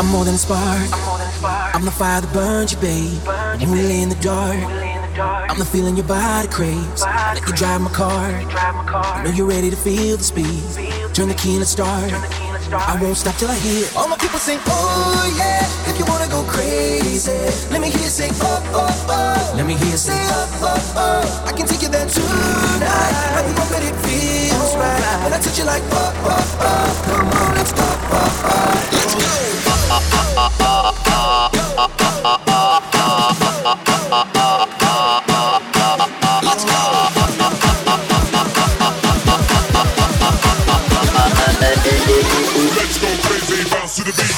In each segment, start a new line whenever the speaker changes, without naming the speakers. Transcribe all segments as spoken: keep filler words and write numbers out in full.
I'm more than a spark. I'm the fire that burns you, babe. When we lay in the dark, I'm the feeling your body craves. Let you drive my car. I know you're ready to feel the speed. Turn the key and let's start. I won't stop till I hear all my people sing, oh yeah. If you wanna go crazy, let me hear you say, oh, oh, oh. Let me hear you say, oh, oh, oh. I can take you there tonight. I can hope that it feels right. When I touch you like, oh, oh, oh. Come on, let's go, oh, oh. Let's go. Let's go.
Let's go crazy, bounce to the beat.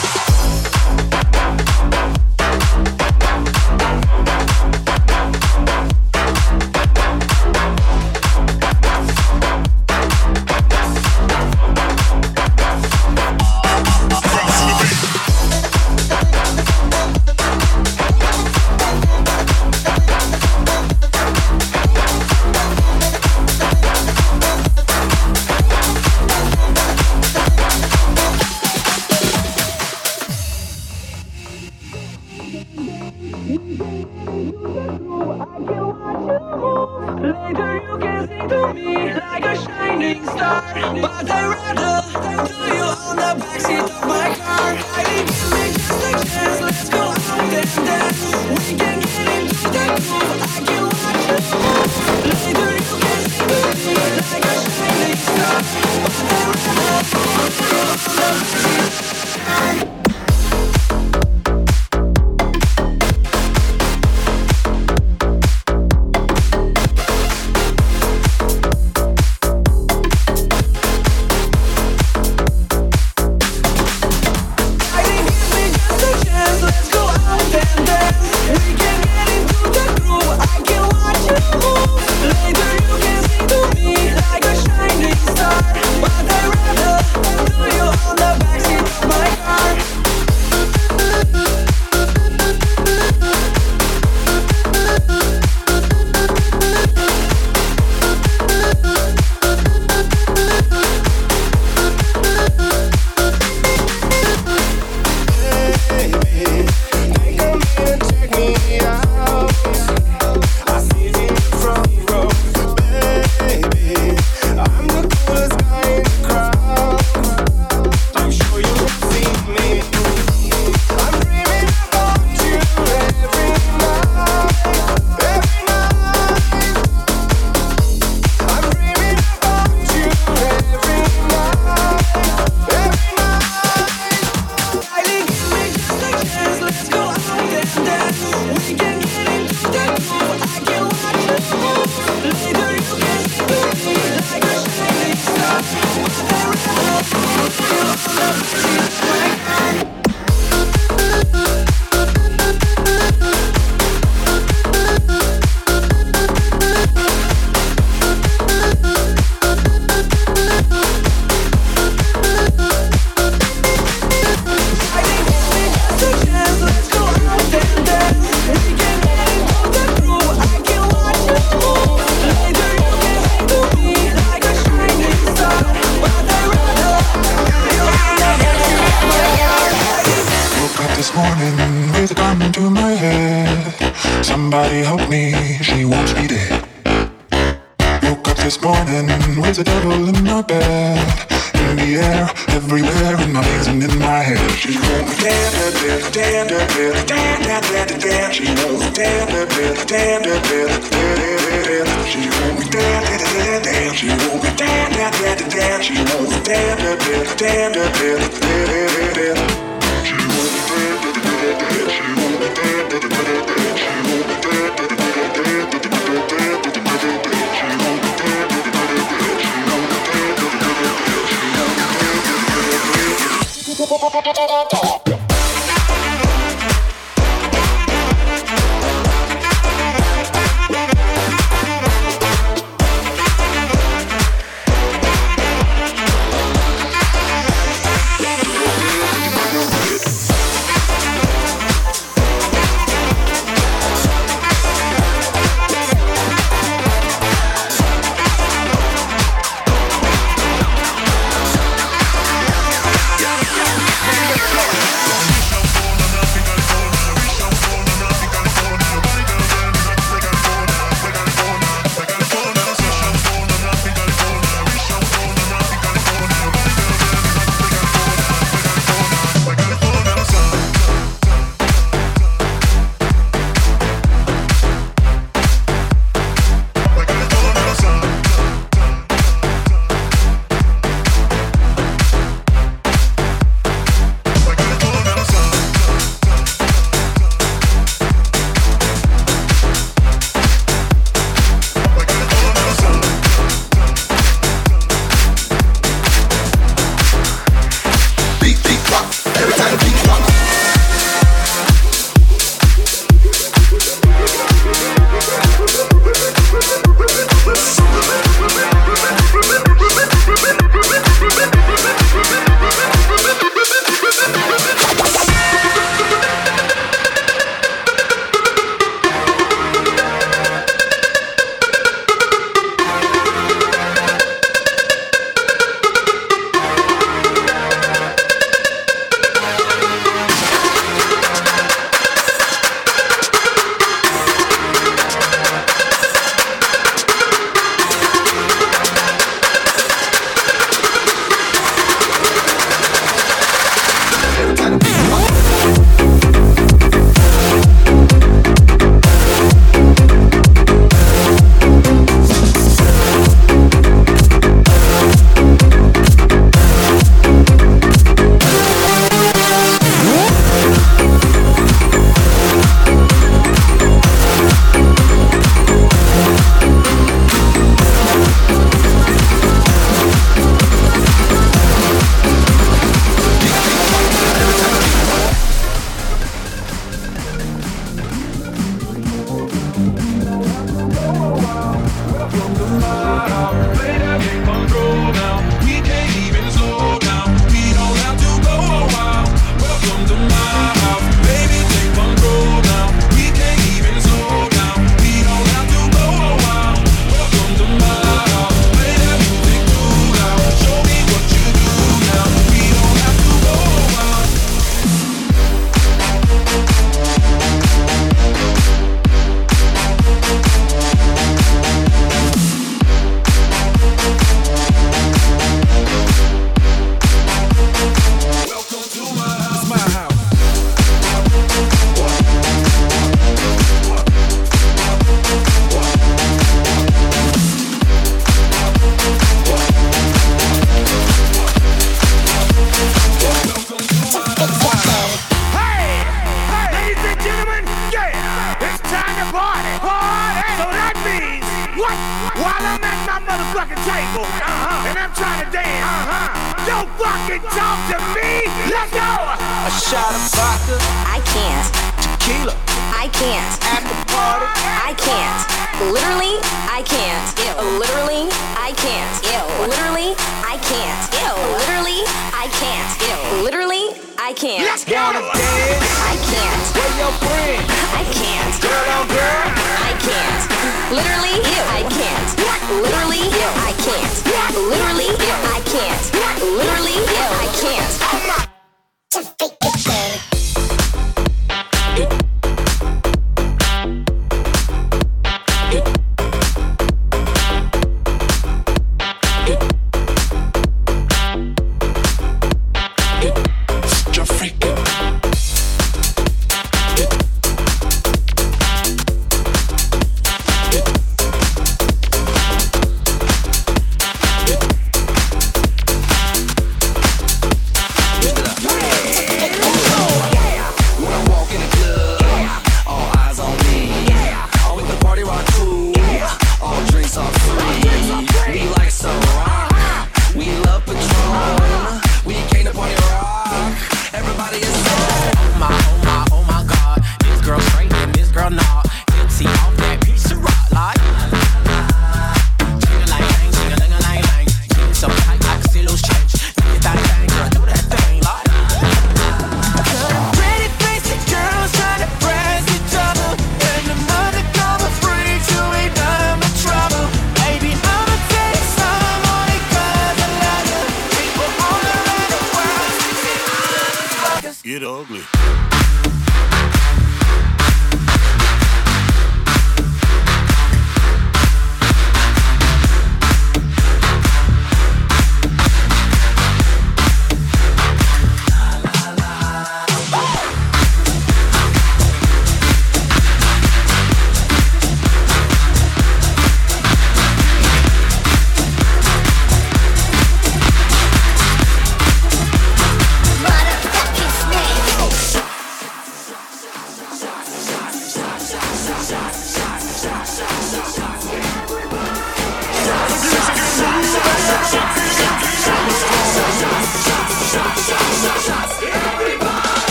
I'm at my motherfucking table, uh-huh, and I'm trying to dance, uh-huh. Don't fucking talk to me. Let's go.
A shot of vodka.
I can't.
Tequila.
I can't.
After party.
I can't. Literally, I can't. Ew. Literally, I can't. Ew. Literally, I can't. Ew. Literally, I can't. Ew. Literally, I can't.
Let's go.
Wanna dance?
I can't.
Where your friends?
I can't.
Girl on girl.
I can't. Literally, I can't. Literally, I can't. Literally, I can't. Literally, I can't.
Oh my.
Just fake it, baby.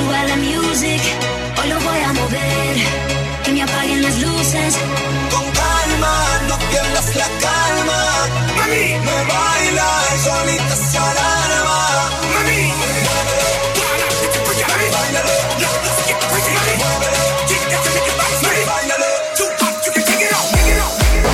suba la music, hoy lo voy a mover, que me apaguen las luces.
Con calma, no pierdas la calma.
Mami,
me baila, solita se alarma.
Mami,
muévelo, bailalo,
let's get crazy, mami.
muévelo,
Kick that to make it bounce, mami.
bailalo.
Too hot, you can take it off, take it off.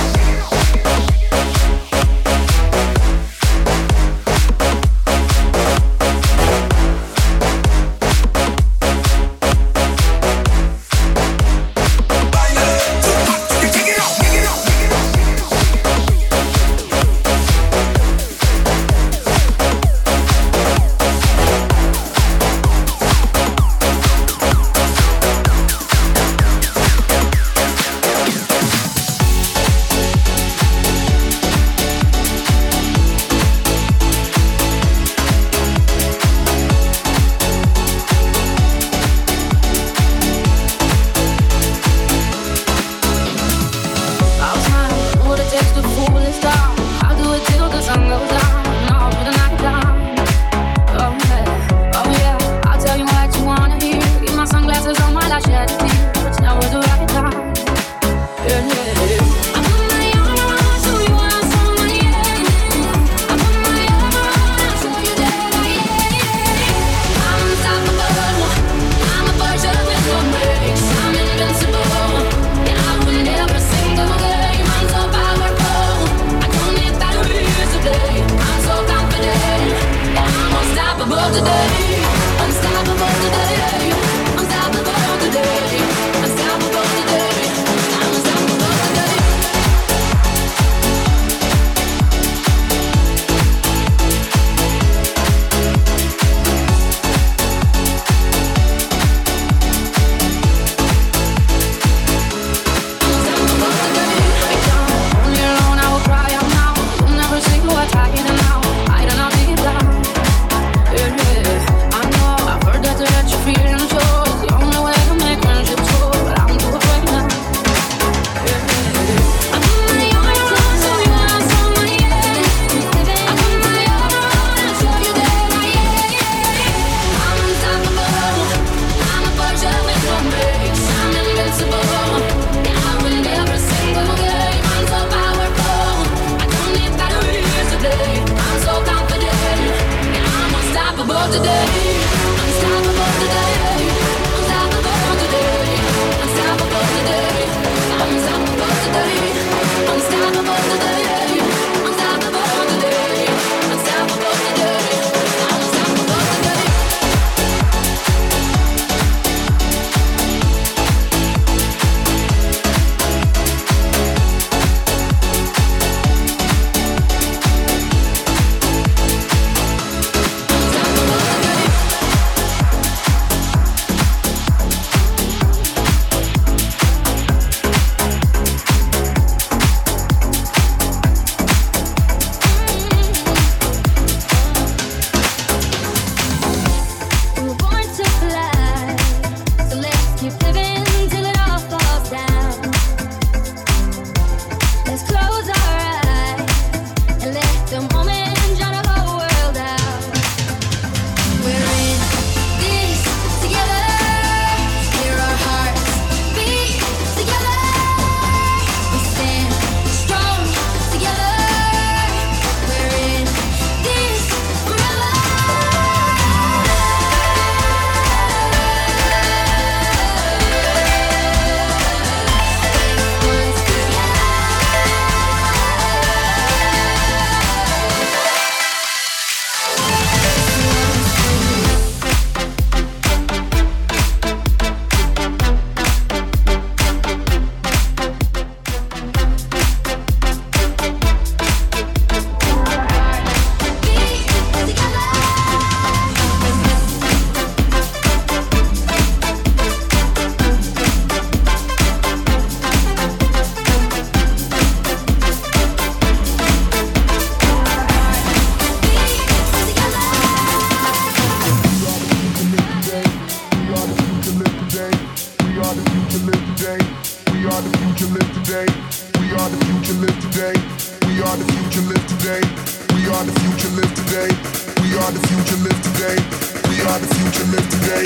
are the future, live today. We are the future, live today. We are the future, live today.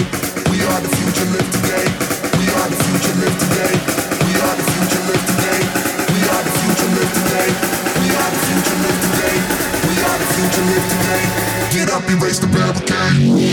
We are the future, live today. We are the future, live today. We are the future, live today. We are the future, live today. We are the future, live today. We are the future, live today. Get up, erase the barricade.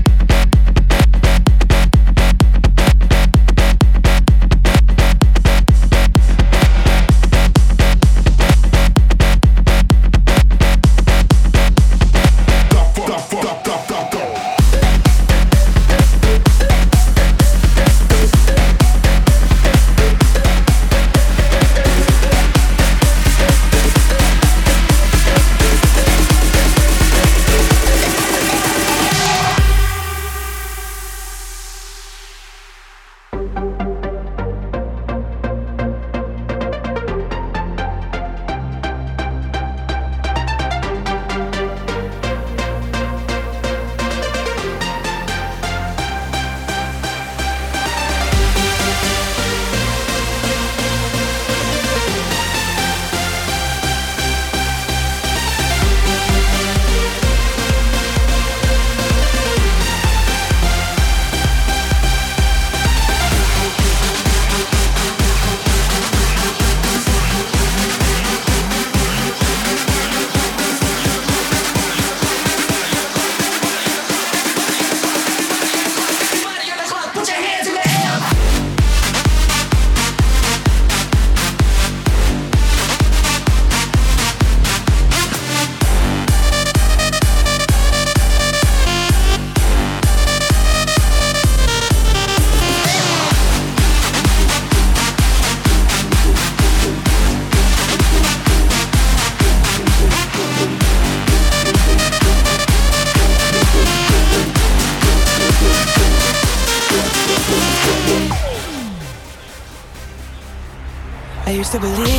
I used to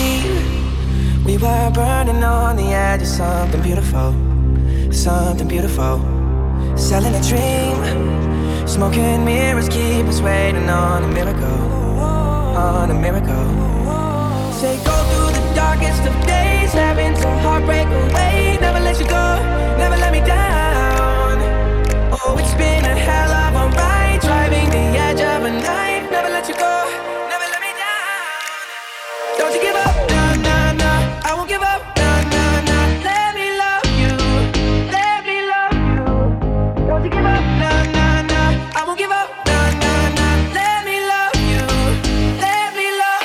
believe we were burning on the edge of something beautiful, something beautiful. Selling a dream, smoking mirrors keep us waiting on a miracle, on a miracle. Say go through the darkest of days, having to heartbreak away. Never let you go, never let me down. Oh, it's been a hell of a ride, driving the edge of a knife. Never let you go. Don't you give up, nah, nah, nah. I won't give up, nah, nah, nah. Let me love you, let me love you. Don't you give up, nah, nah, nah. I won't give up, nah, nah, nah. Let me love you, let me love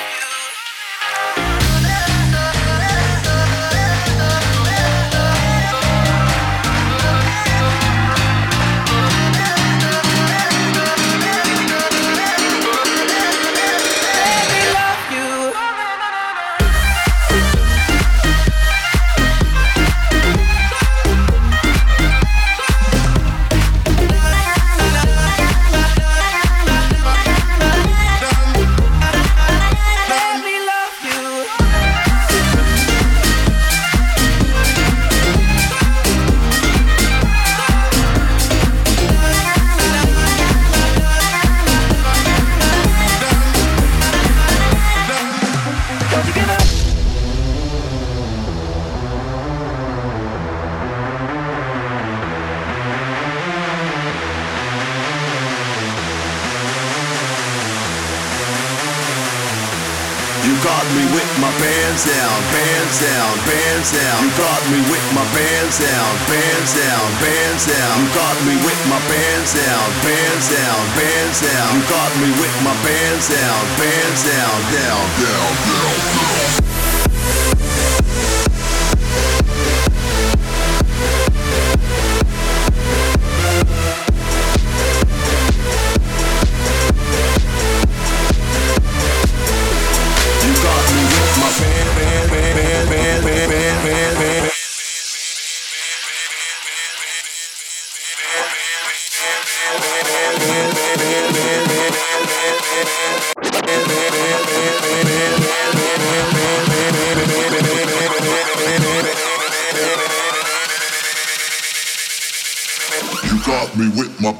down, bands down, bands down. You got me with my bands down, bands down, bands down. You got me with my bands down, bands down, bands down. You got me with my bands down, bands down, down, down, down, down. You got me with my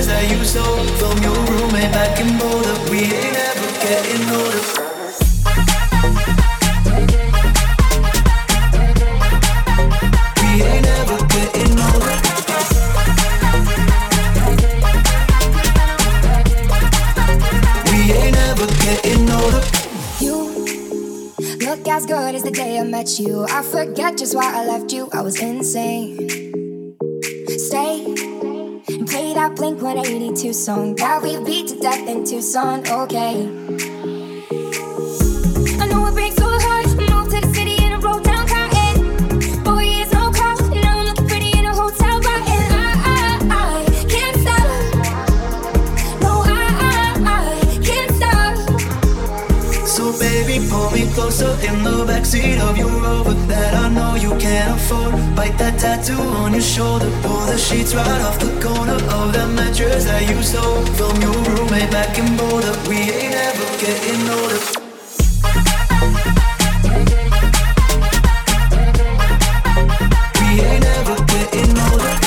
mattress that you stole from your roommate back in Boulder. We ain't ever getting older. We ain't ever getting older. We ain't ever getting older.
You look as good as the day I met you. I forget just why I left you. I was insane. Stay and play that Blink one eighty-two song that we beat to death in Tucson. Okay. I know it breaks so hard. Moved to the city in a roll down cotton. Four years no call. Now I'm looking pretty in a hotel rotten. I, I, I can't stop. No, I, I, I can't stop.
So baby, pull me closer in the backseat of your Rover that I know you can't afford. Bite that tattoo on your shoulder. Pull the sheets right off the corner of that mattress that you stole from your roommate back in Boulder. We ain't ever getting older. We ain't ever getting older.